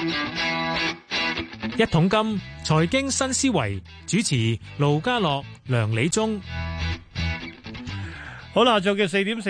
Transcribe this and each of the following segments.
一桶金財經新思維，主持盧家樂、梁理中。 好啦，下晝嘅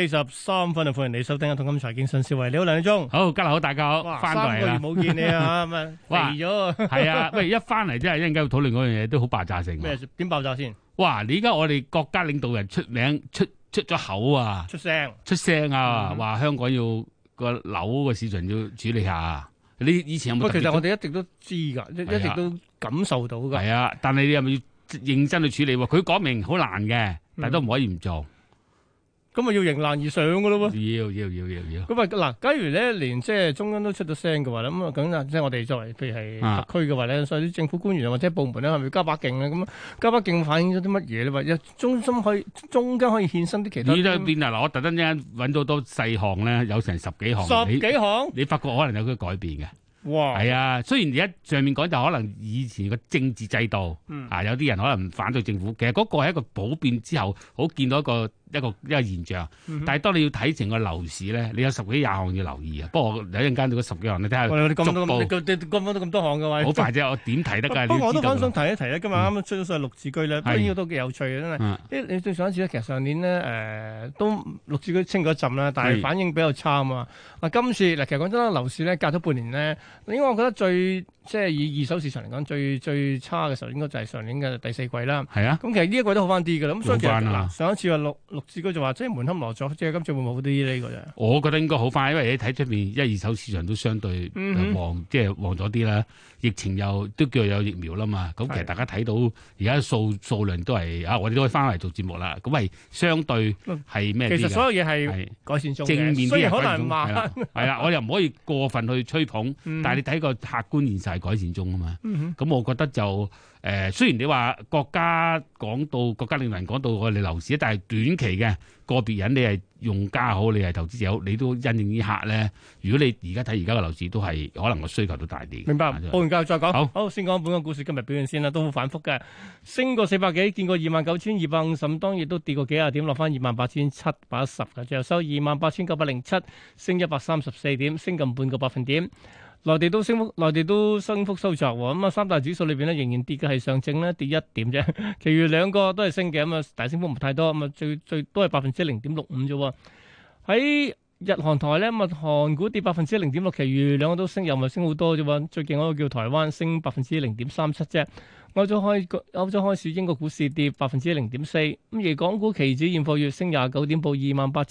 4:43啊，歡迎你收聽一桶金財經新思維。你好，梁理中。 好，家樂好，大家好，翻到嚟啦。 3個月冇見你啊，咁啊肥咗。 係啊，喂，一翻嚟真係一陣間要討論嗰樣嘢都好爆炸性。 咩？點爆炸先？ 哇！你而家我哋國家領導人出名出咗口啊，出聲啊，話香港要個樓個市場要處理下。你以前有冇？ 其實我哋一直都知㗎，一直都感受到㗎。 係啊，但係你係咪要認真去處理？佢講明好難嘅，但係都唔可以唔做。 咁咪要迎難而上㗎咯喎！ 要。 咁啊嗱，假如咧連即係中央都出咗聲嘅話咧，咁啊咁啊，即係我哋作為譬如係特區嘅話咧，所以啲政府官員或者部門咧，係咪加把勁咧？咁加把勁反映咗啲乜嘢咧？或者中間可以衍生啲其他？ 你都變啊！嗱，我特登一陣揾到多細項咧，有成十幾項。 十幾項？ 你發覺可能有啲改變嘅。 哇！ 係啊，雖然而家上面講就可能以前個政治制度，有啲人可能反對政府，其實嗰個係一個普遍之後，好見到一個現象。但係當你要睇成個樓市咧，你有十幾廿項要留意啊。不過有一陣間到嗰十幾項，你睇下。 你咁多咁多項嘅話， 好快啫！我點睇得㗎？ 不過我都想提一提咧，今日啱啱出咗上綠置居咧，呢個都幾有趣嘅，真係。你對上一次咧，其實上年咧都綠置居清咗一陣啦，但係反應比較差啊嘛。今次嗱，其實講真啦，樓市咧隔咗半年咧。應該我覺得即係以二手市場嚟講，最差嘅時候應該就係上年嘅第四季啦。 係啊， 咁其實呢一季都好翻啲㗎啦。咁所以其實上一次話綠置居就話即係門可羅雀，即係今次會唔會好啲呢個啫？ 我覺得應該好翻，因為你睇出面一二手市場都相對旺，即係旺咗啲啦。疫情又都叫有疫苗啦嘛。咁其實大家睇到而家數量都係我哋都可以翻嚟做節目啦。咁係相對係咩？ 其實所有嘢係改善中嘅， 正面啲， 雖然可能慢。 係啦，我又唔可以過分去吹捧，但係你睇個客觀現實係改善中啊嘛。咁我覺得就雖然你話國家領導人講到我哋樓市，但係短期嘅個別人你係用家好，你係投資者好，你都因應呢客咧。如果你而家睇而家嘅樓市，都係可能個需求都大啲。 明白。報完價再講。好，先講本港股市今日表現先啦，都好反覆嘅，升過400幾，見過29,250，當然都跌過幾廿點，落翻28,710嘅，最後收28,907，升134點，升近半個百分點。內地都升幅收窄喎，咁啊三大指數裏邊咧仍然跌嘅係上證咧跌1點啫，其餘兩個都係升嘅，咁啊大升幅唔太多，咁啊最多係0.65%啫喎。喺日韓台咧，咁啊韓股跌0.6%，其餘兩個都升，又唔係升好多啫喎。最勁嗰個叫台灣升0.37%啫。歐洲開市，英國股市跌0.4%，咁而港股期指現貨月升29點，報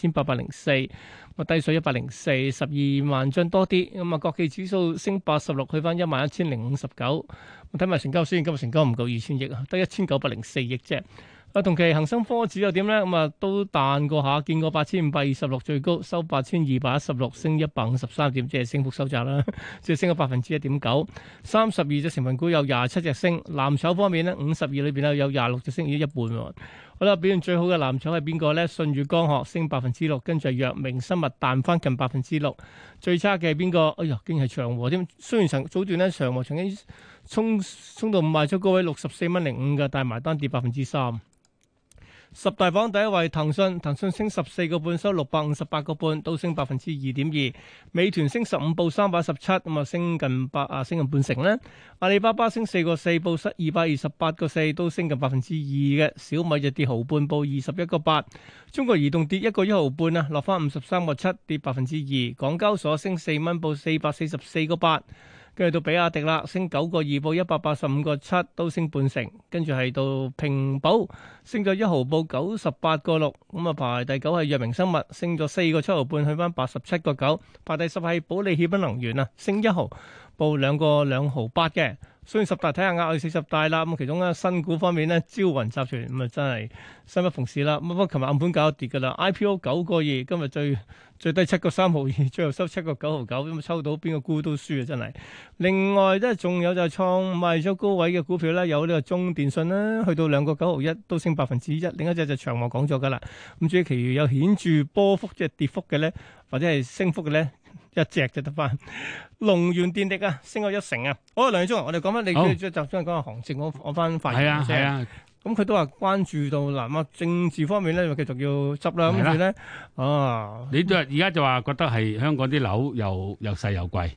28,804，低水104， 12萬張多啲。咁啊，國企指數升86，去翻11,059。睇埋成交先，今日成交唔夠2,000億啊，得1,904億啫。同期恒生科指又點咧？咁啊都彈過下，見過8,526最高，收8,216，升153點，即係升幅收窄啦，即係升咗1%。32隻成分股有27隻升，藍籌方面咧，52裏邊咧有26隻升，已經一半喎。好啦，表現最好嘅藍籌係邊個咧？舜宇光學升6%，跟住係藥明生物彈翻近6%。最差嘅係邊個？哎呀，竟然係長和添。雖然早段咧長和曾經衝到賣出高位64.05蚊嘅，但係埋單跌3%。十大榜第一位騰訊升14個半，收658個半，都升2.2%。美團升15，報317，咁啊升近半成咧。阿里巴巴升4個4，報228個4，都升近2%嘅。小米就跌毫半，報21個8。中國移動跌1個1毫半啊，落翻53個7，跌2%。港交所升4蚊，報444個8。跟住到比亞迪啦，升9個2，報185個7，都升半成。跟住係到平保，升咗1毫，報98個6。咁啊排第9係藥明生物，升咗4個7毫半，去翻87個9。排第10係保利協鑫能源啊，升1毫，報2個2毫8嘅。雖然十大睇下額外40大啦，咁其中咧新股方面咧，招雲集團咁啊真係生不逢時啦。咁不過琴日暗盤搞跌㗎啦 ，IPO 9個2，今日最低7個3毫2，最後收7個9毫9，咁啊抽到邊個沽都輸啊真係。另外即係仲有就係創賣咗高位嘅股票咧，有呢個中電信啦，去到2個9毫1，都升1%。另一隻就長和講咗㗎啦。咁至於其餘有顯著波幅即係跌幅嘅咧，或者係升幅嘅咧。一隻就得翻，龍源電力啊，升咗1成啊！好，梁理中，我哋講翻你即係集中講下行情，我翻發言先。係啊，咁佢都話關注到嗱，政治方面咧，繼續要執啦。跟住咧，你都而家就話覺得係香港啲樓又細又貴，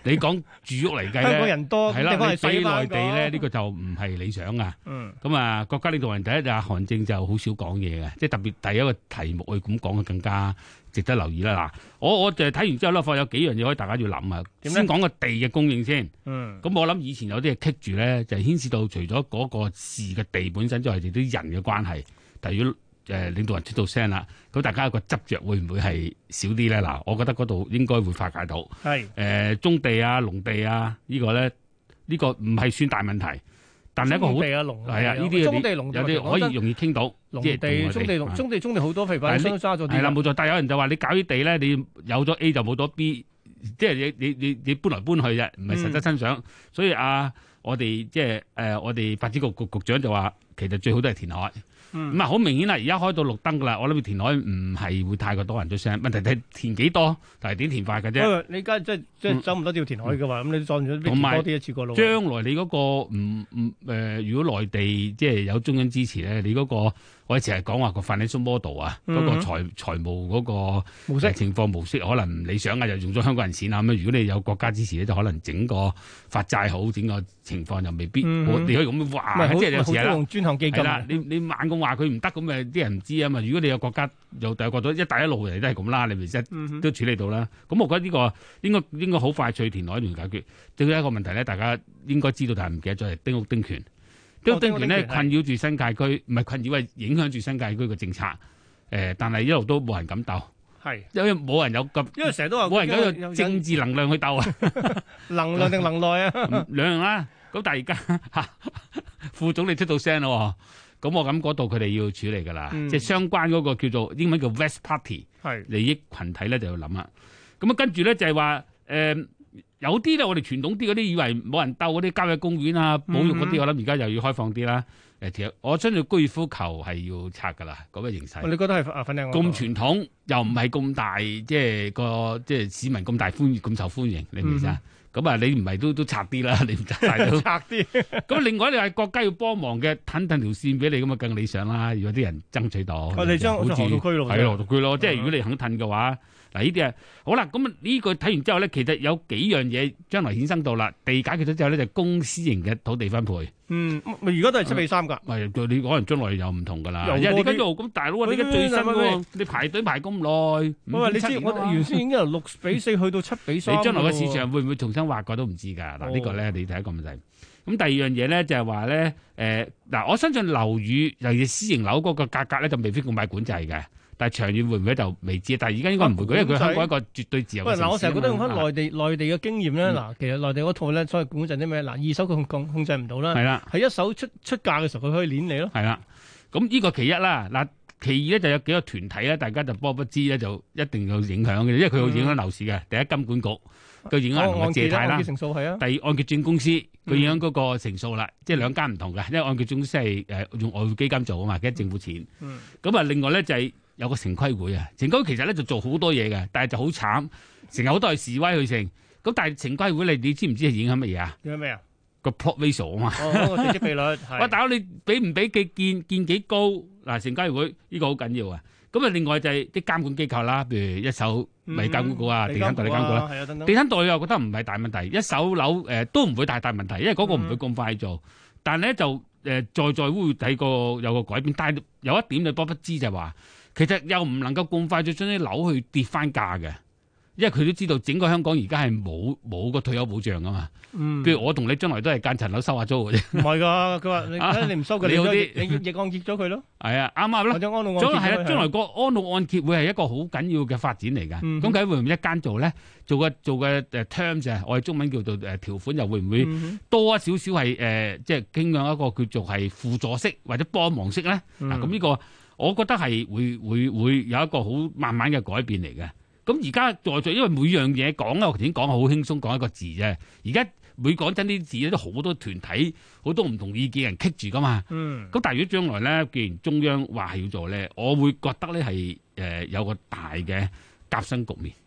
你講住屋嚟計咧， 香港人多， 係啦， 地方係你比細內地咧呢個就唔係理想啊。 嗯， 咁啊，國家領導人第一就係韓正就好少講嘢嘅，即係特別第一個題目去咁講嘅更加值得留意啦。嗱，我就係睇完之後咧，發覺有幾樣嘢可以大家要諗啊。先講個地嘅供應先。咁我諗以前有啲嘢棘住咧，就係牽涉到除咗嗰個事嘅地本身之外，亦都人嘅關係。但如果領導人出到聲啦，咁大家有個執着會唔會係少啲咧？嗱，我覺得嗰度應該會化解到。係棕地啊、農地啊，呢個咧呢個唔係算大問題，但係一個好地啊、農係啊，呢啲棕地、農有啲可以容易傾到。 農地、棕地好多，譬如話都揸咗啲。 係啦，冇錯。但係有人就話你搞啲地咧，你有咗 A 就冇咗 B， 即係你搬來搬去啫，唔係實質身上。所以我哋即係我哋發展局局長就話，其實最好都係填海。咁好明顯啦，而家開到綠燈噶啦，我諗填海唔係會太過多人出聲，問題係填幾多，但係點填法嘅啫。 你而家即係走唔多都要填海嘅話，咁你撞咗邊多啲一次過路。 將來你嗰個如果內地即係有中央支持咧，你嗰個我哋成日講話個 financial model 啊，嗰個財務嗰個模式情況模式可能唔理想啊，就用咗香港人錢啊咁。如果你有國家支持咧，就可能整個發債好，整個情況就未必。你可以咁話，即係有時係啦。專項基金啦，你猛咁話佢唔得，咁誒啲人唔知啊嘛。如果你有國家又第二個國咗一帶一路嚟都係咁啦，你咪即都處理到啦。咁我覺得呢個應該好快脆填海嚟解決。最後一個問題咧，大家應該知道，但係唔記得咗係丁屋丁權。丁屋丁權咧困擾住新界區，唔係困擾係影響住新界區嘅政策。但係一路都冇人敢鬥，係因為冇人有咁，因為成日都話冇人有政治能量去鬥啊， 能量定能耐啊， 兩樣啦。咁但係而家副總理出到聲咯，咁我諗嗰度佢哋要處理㗎啦，即係相關嗰個叫做英文叫 West Party 利益群體咧就要諗啦。咁啊跟住咧就係話有啲咧我哋傳統啲嗰啲以為冇人鬥嗰啲郊野公園啊、保育嗰啲，我諗而家又要開放啲啦。其實我相信高爾夫球係要拆㗎啦，嗰個形勢。 你覺得係粉嶺咁傳統又唔係咁大，即係市民咁大歡迎、咁受歡迎，你明唔明啊？咁啊，你唔係都拆啲啦，你唔拆晒都拆啲。 咁另外你係國家要幫忙嘅，騰條線俾你咁啊，更理想啦。如果啲人爭取到， 我哋將好似河道區咯， 係河道區咯。即係如果你肯騰嘅話，嗱呢啲啊好啦。咁呢個睇完之後咧，其實有幾樣嘢將來衍生到啦。地解決咗之後咧，就公私營嘅土地分配。 咪而家都係7:3㗎。 係，你可能將來又唔同㗎啦。因為你跟住咁大佬啊，你而家最新喎，你排隊排咁耐。 喂，你知我原先已經由6:4去到7:3。 你將來嘅市場會唔會重新劃過都唔知㗎。嗱呢個咧，你第一個問題。咁第二樣嘢咧就係話咧，我相信樓宇尤其是私營樓嗰個價格咧就未必咁快管制嘅。但係長遠會唔會就未知？但係而家應該唔會，因為佢香港一個絕對自由嘅城市。 我成日覺得用翻內地嘅經驗咧，其實內地嗰套咧，所謂管制啲咩？二手佢控制唔到啦。係啦，係一手出價嘅時候，佢可以攆你咯。係啦，咁呢個其一啦。嗱，其二咧就有幾個團體咧，大家就波不知咧，就一定有影響嘅，因為佢會影響樓市嘅。第一，金管局佢影響人嘅借貸啦。按揭成數係啊。第二，按揭證公司佢影響嗰個成數啦，即係兩間唔同嘅，因為按揭證公司係用外匯基金做啊嘛，嘅政府錢。咁啊，另外咧就係。有個城規會啊，城規會其實咧就做好多嘢嘅，但係就好慘，成日好多係示威去成。咁但係城規會你知唔知係影響乜嘢啊？影響咩啊？個 plot ratio 啊嘛。哦，地積比率係。喂，大佬你俾唔俾建幾高？嗱，城規會呢個好緊要啊。咁啊，另外就係啲監管機構啦，譬如一手咪監管局啊，地產代理監管啦。地產代理我覺得唔係大問題，一手樓都唔會大問題，因為嗰個唔會咁快做。但係咧就在會睇個有個改變，但係有一點你多不知就係話。其實又唔能夠咁快就將啲樓去跌翻價嘅，因為佢都知道整個香港而家係冇個退休保障噶嘛。譬如我同你將來都係間層樓收下租嘅啫。唔係㗎，佢話你唔收嘅，你逆按揭咗佢咯。係啊，啱啱啦。或者安老按揭。係啦，將來個安老按揭會係一個好緊要嘅發展嚟㗎。咁佢會唔會一間做咧？做嘅terms 啊，我哋中文叫做條款，又會唔會多少少係即係傾向一個叫做係輔助式或者幫忙式咧？嗱，咁呢個。我覺得係會有一個好慢慢嘅改變嚟嘅。咁而家在因為每樣嘢講咧，我頭先講係好輕鬆講一個字啫。而家每講真啲字咧，都好多團體、好多唔同意見人棘住噶嘛。咁但係如果將來咧，既然中央話係要做咧，我會覺得咧係有個大嘅夾心局面。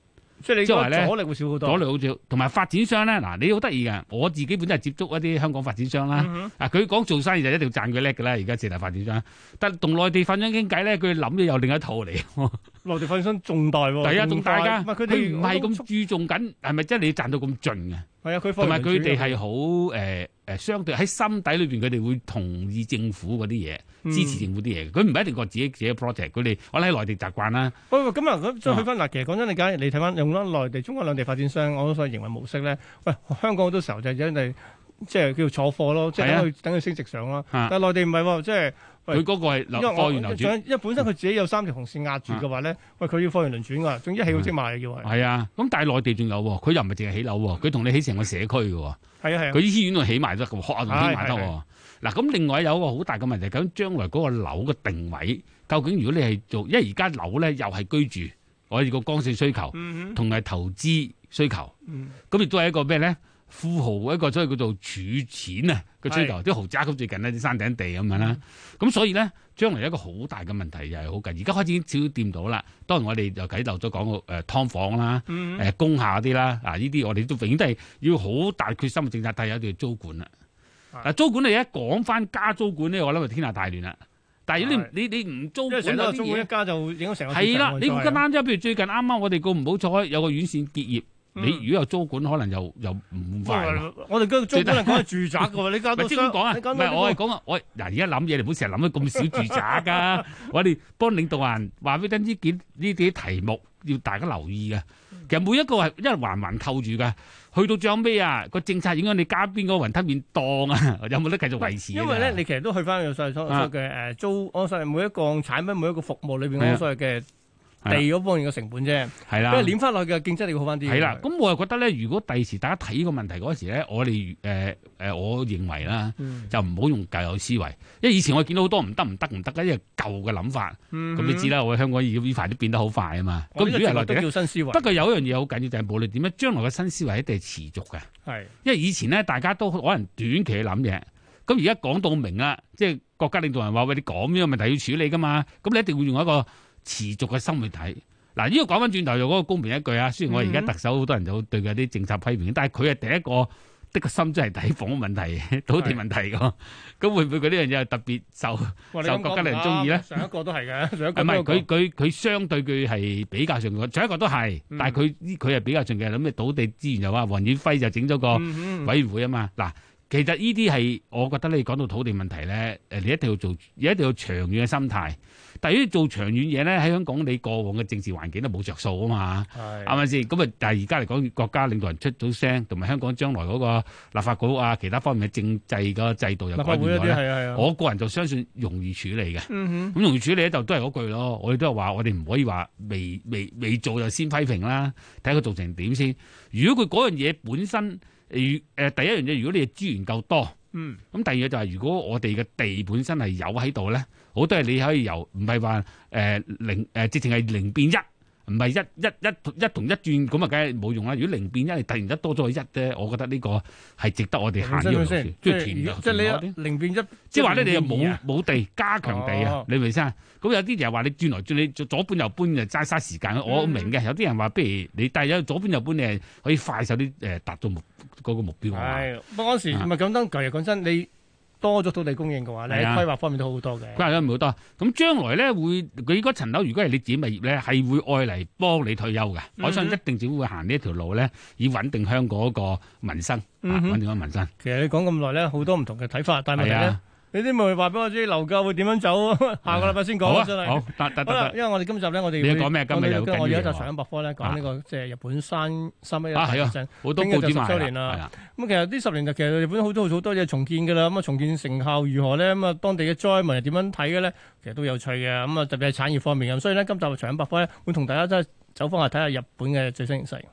即係你即係話咧阻力會少好多。 阻力好少，同埋發展商咧，嗱你好得意嘅，我自己本身係接觸一啲香港發展商啦。佢講做生意就一定要讚佢叻㗎啦。而家四大發展商，但係同內地發展商傾偈咧，佢諗嘅又另一套嚟。 內地發展商仲大喎， 係啊，仲大㗎。佢唔係咁注重緊，係咪即係你賺到咁盡嘅？ 係啊，佢同埋佢哋係好相對喺心底裏邊，佢哋會同意政府嗰啲嘢，支持政府啲嘢。佢唔係一定個自己 project，佢哋我喺內地習慣啦。 喂，咁啊，咁再去翻嗱，其實講真，你假如你睇翻用翻內地、中國兩地發展商，我所謂營運模式咧，喂，香港好多時候就因為即係叫做坐貨咯，即係等佢升值上咯。但係內地唔係喎，即係佢嗰個係貨源流轉， 因為本身佢自己有三條紅線壓住嘅話咧，喂，佢要貨源輪轉㗎，總之一起好即賣嘅要係。 係啊，咁但係內地仲有喎，佢又唔係淨係起樓喎，佢同你起成個社區嘅喎。 係啊係啊， 佢醫院度起埋得，學校仲起埋得喎。嗱，咁另外有一個好大嘅問題，究竟將來嗰個樓嘅定位，究竟如果你係做，因為而家樓咧又係居住，我哋個剛性需求，同埋投資需求，咁亦都係一個咩咧？富豪一個所謂叫做儲錢啊嘅需求，啲豪宅咁最近呢啲山頂地咁樣啦，咁所以咧將來一個好大嘅問題又係好緊，而家開始已經少少掂到啦。當然我哋就啟漏咗講個劏房啦，工廈啲啦，呢啲我哋都永遠都係要好大決心嘅政策，但係有條租管啦。嗱，租管你一講翻加租管咧，我諗就天下大亂啦。但係如果你唔租管， 成個租管一加就影響成個係啦。你唔咁啱啫，譬如最近啱啱我哋個唔好彩有個院線結業。你如果有租管，可能又唔快。 我哋嗰個租管係講係住宅嘅喎，你加到即係點講啊？唔係我係講啊，我嗱而家諗嘢，你唔好成日諗到咁少住宅㗎。我哋幫領導人話俾你聽呢啲題目要大家留意嘅。其實每一個係因為環環扣住㗎。去到最後尾啊，個政策影響你加邊個雲吞麵檔啊？有冇得繼續維持？ 因為咧，你其實都去翻個所謂嘅租，我所謂每一個產品、每一個服務裏邊我所謂嘅。地嗰方面嘅成本啫，係啦，因為攣翻落去嘅競爭力要好翻啲。係啦， 咁我又覺得咧，如果第時大家睇呢個問題嗰時咧，我哋我認為啦，就唔好用舊有思維，因為以前我見到好多唔得，因為舊嘅諗法。咁你知啦，我哋香港呢排都變得好快啊嘛。咁如果係內地都叫新思維。不過有一樣嘢好緊要，就係無論點樣，將來嘅新思維一定係持續嘅。係，因為以前咧大家都可能短期去諗嘢，咁而家講到明啦，即係國家領導人話喂，你咁樣問題要處理噶嘛，咁你一定會用一個持續嘅心去睇。嗱，呢個講翻轉頭又嗰個公平一句啊！雖然我而家特首好多人就對佢啲政策批評，但係佢係第一個的個心真係睇房屋問題、土地問題㗎。咁會唔會佢呢樣嘢係特別受國家領導人中意咧？ 上一個都係嘅，上一個唔係佢相對佢係比較上嘅，上一個都係，但係佢係比較上嘅。咁你土地資源又話黃遠輝就整咗個委員會啊嘛。嗱，其實呢啲係我覺得你講到土地問題咧，你一定要做，一定要長遠嘅心態。但係如果做長遠嘢咧，喺香港你過往嘅政治環境都冇着數啊嘛，係咪先？咁啊，但係而家嚟講，國家領導人出到聲，同埋香港將來嗰個立法局啊，其他方面嘅政制個制度又改變咗咧。我個人就相信容易處理嘅。咁容易處理咧，就都係嗰句咯。我哋都係話，我哋唔可以話未做就先批評啦，睇下佢做成點先。如果佢嗰樣嘢本身，第一樣嘢，如果你嘅資源夠多。咁第二嘢就係，如果我哋嘅地本身係有喺度咧，好多係你可以由唔係話零直情係零變一，唔係一同一轉咁啊，梗係冇用啦。如果零變一，你突然間多咗一咧，我覺得呢個係值得我哋行呢個路線，即係你零變一， 即係話咧，你又冇地加強地啊？你明唔明先？咁有啲人話你轉來轉，你左搬右搬就嘥時間。我明嘅。有啲人話，不如你但係有左搬右搬，你係可以快手啲達到嗰個目標。 係，不過嗰時唔係咁當，其實講真，你多咗土地供應嘅話，你喺規劃方面都好多嘅。規劃咗好多，咁將來咧會佢嗰層樓，如果係你自己物業咧，係會愛嚟幫你退休嘅。我相信一定政府會行呢一條路咧，以穩定香港嗰個民生，穩定個民生。 其實你講咁耐咧，好多唔同嘅睇法，但係問題咧。你啲咪話俾我知樓價會點樣走？下個禮拜先講真係。好，得。因為我哋今集咧，我哋你講咩？今日有我哋一集財經百科咧，講呢個即係日本311大地震， 好多報紙 10週年啦。咁其實呢10年就其實日本好多嘢重建㗎啦。咁啊重建成效如何咧？咁啊當地嘅災民係點樣睇嘅咧？其實都有趣嘅。咁啊特別係產業方面咁，所以咧今集財經百科咧會同大家真係走翻去睇下日本嘅最新形勢。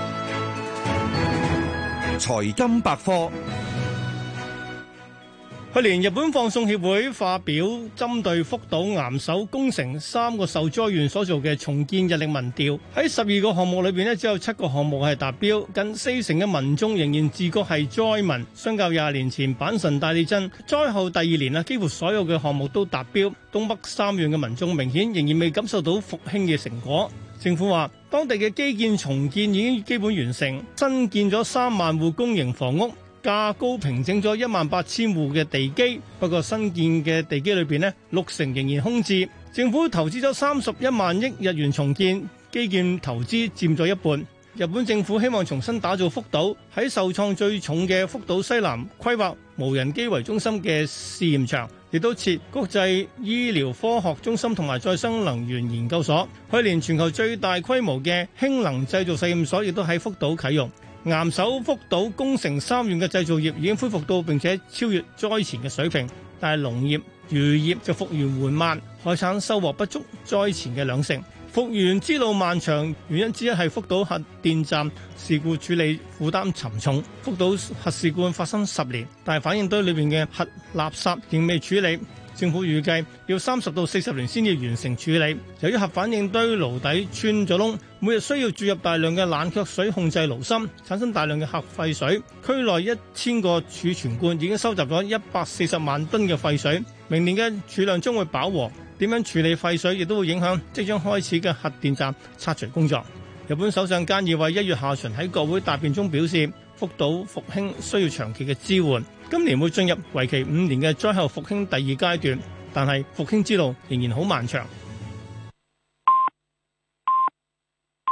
財金百科。 去年日本放送協會發表針對福島岩手宮城3個受災縣所做嘅重建日曆民調，喺12個項目裏邊咧，只有7個項目係達標，近40%嘅民眾仍然自覺係災民。相較20年前阪神大地震災後第2年啊，幾乎所有嘅項目都達標。東北3縣嘅民眾明顯仍然未感受到復興嘅成果。政府話，當地嘅基建重建已經基本完成，新建咗3萬戶公營房屋。價高平整咗18000戶嘅地基，不過新建嘅地基裏邊呢，60%仍然空置。政府投資咗31萬億日元重建，基建投資佔咗一半。日本政府希望重新打造福島，喺受創最重嘅福島西南規劃無人機為中心嘅試驗場，亦都設國際醫療科學中心同埋再生能源研究所。去年全球最大規模嘅氫能製造實驗所亦都喺福島啟用。岩手福島宮城3縣嘅製造業已經恢復到並且超越災前嘅水平，但係農業、漁業就復原緩慢，海產收穫不足災前嘅2成。復原之路漫長，原因之一係福島核電站事故處理負擔沉重。福島核事故發生10年，但係反應堆裏面嘅核垃圾仍未處理。政府預計要30到40年先至完成處理。由於核反應堆爐底穿咗窿，每日需要注入大量嘅冷卻水控制爐芯，產生大量嘅核廢水。區內1000個儲存罐已經收集咗140萬噸嘅廢水，明年嘅儲量將會飽和。點樣處理廢水亦都會影響即將開始嘅核電站拆除工作。日本首相菅義偉1月下旬喺國會答辯中表示，福島復興需要長期嘅支援，今年會進入為期5年嘅災後復興第2階段，但係復興之路仍然好漫長。